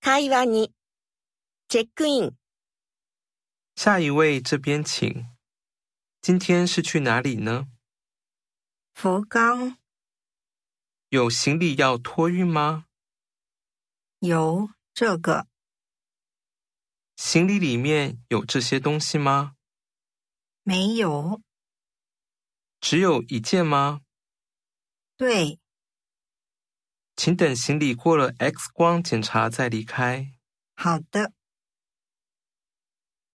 会話に。チェックイン。 下一位这边请。今天是去哪里呢？ 福冈。 有行李要托运吗？ 有这个。 行李里面有这些东西吗？ 没有。 只有一件吗？ 对。 请等行李过了 X 光检查再离开。 好的。